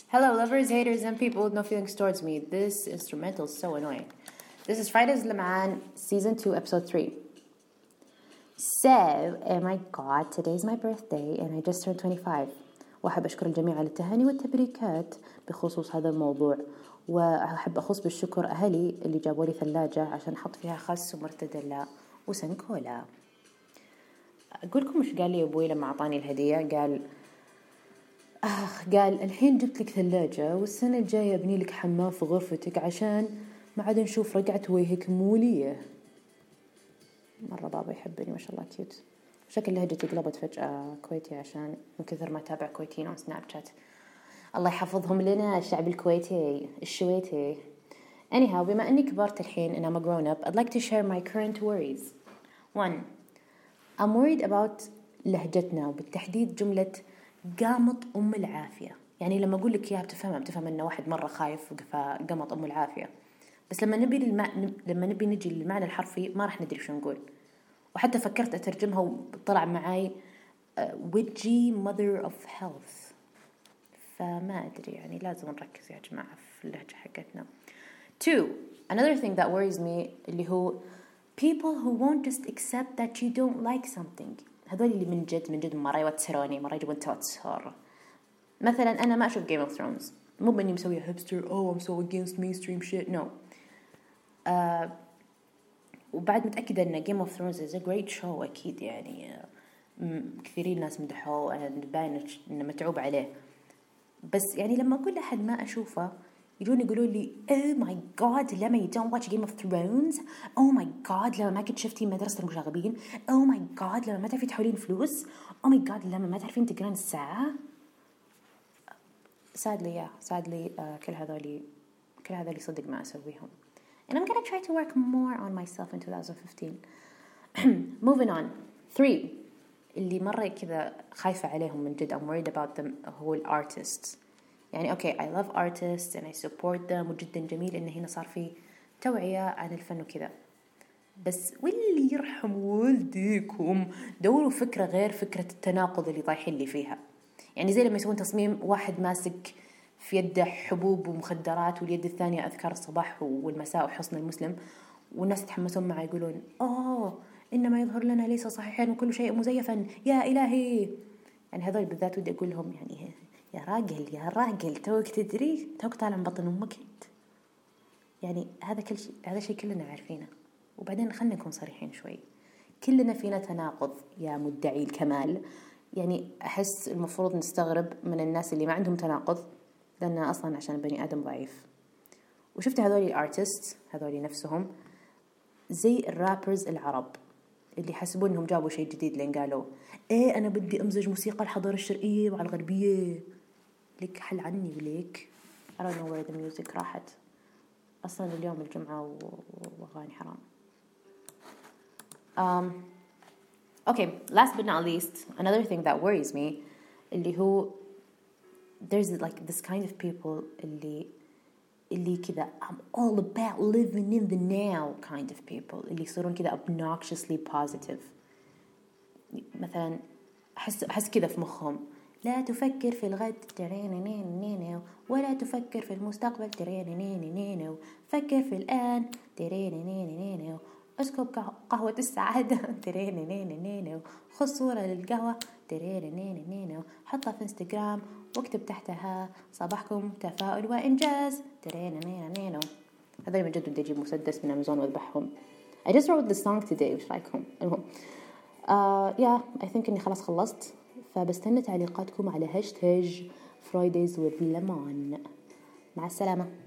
Hello, lovers, haters, and people with no feelings towards me. This instrumental is so annoying. This is Fridays Leman, Season 2, Episode 3. So, oh my god, today's my birthday and I just turned 25. وأحب أشكر الجميع على التهاني والتبريكات بخصوص هذا الموضوع. وأحب أخص بالشكر أهلي اللي جابوا لي ثلاجة عشان أحط فيها خس ومرتديلا وسنكولا. أقول لكم مش قال لي أبوي لما أعطاني الهدية؟ قال الحين جبت لك ثلاجة والسنة الجاية أبني لك حمام في غرفتك عشان ما عاد نشوف رقعة وجهك مولية. مرة بابا يحبني ما شاء الله كيوت. شكل لهجتي قلبت فجأة كويتي عشان من كثر ما تابع كويتيين على سناب شات. الله يحفظهم لنا الشعب الكويتي الشويتي. Anyhow, بما أني كبرت الحين and I'm a grown up, I'd like to share my current worries. 1. I'm worried about لهجتنا وبالتحديد جملة قامط أم العافية. يعني لما أقول لك إياها بتفهم إنه واحد مرة خايف فقامط أم العافية. بس لما نبي نجي للمعنى الحرفي ما راح ندري شو نقول. وحتى فكرت أترجمها وطلع معي witchy mother of health. فما أدري يعني لازم نركز يا جماعة في اللهجة حقتنا. 2. Another thing that worries me اللي هو people who won't just accept that you don't like something. هذول اللي من جد مرة يوتروني مرة يجيبون توتر. مثلا أنا ما أشوف Game of Thrones مو بإني مسوية hipster I'm so against mainstream shit no. وبعد متأكدة إن Game of Thrones is a great show أكيد يعني كثيرين ناس مدحوه and باين إنه متعوب عليه. بس يعني لما أقول لأحد ما أشوفه يجون يقولوا لي oh my god لما you don't watch Game of Thrones oh my god لما ما كنت شفتي مدرسة المشاغبين oh my god لما ما تعرفين تحولين فلوس oh my god لما ما تعرفين تقرين الساعة. sadly كل هذولي صدق ما أسويهم and I'm gonna try to work more on myself in 2015. Moving on. 3 اللي مرة كذا خايفة عليهم من جد I'm worried about them هو artists. يعني okay I love artists and I support them وجدا جميل إن هنا صار في توعية عن الفن وكذا. بس واللي يرحم والديكم دوروا فكرة غير فكرة التناقض اللي طايحين لي فيها. يعني زي لما يسوون تصميم واحد ماسك في يده حبوب ومخدرات واليد الثانية أذكار الصباح والمساء وحصن المسلم والناس يتحمسون معه يقولون إنما يظهر لنا ليس صحيحا وكل شيء مزيفا يا إلهي. يعني هذول بالذات ودي أقول لهم يعني يا راجل توك تدري توك طالع من بطن أمك يعني هذا شيء كلنا عارفينه. وبعدين خلنا نكون صريحين شوي كلنا فينا تناقض يا مدعي الكمال. يعني أحس المفروض نستغرب من الناس اللي ما عندهم تناقض لأن أصلاً عشان بني آدم ضعيف. وشفت هذولي الارتست هذولي نفسهم زي الرابرز العرب اللي حسبوا إنهم جابوا شيء جديد لين قالوا أنا بدي أمزج موسيقى الحضارة الشرقية مع الغربية. لك حل عني وليك I don't know where the music راحت أصلاً اليوم الجمعة وأغاني حرام. Okay, last but not least, another thing that worries me اللي هو there's like this kind of people اللي كذا I'm all about living in the now kind of people اللي يصيرون كذا obnoxiously positive. مثلا أحس كذا في مخهم لا تفكر في الغد ولا تفكر في المستقبل فكر في الآن أسكب قهوة السعادة خذ صورة للقهوة حطها في انستغرام واكتب تحتها صباحكم تفاؤل وإنجاز هذا من جد بدي أجيب مسدس من أمازون وأذبحهم. I just wrote this song today وش رأيكم؟ I think إني خلاص خلصت فبستنى تعليقاتكم على هاشتاج Fridays with Lemon. مع السلامة.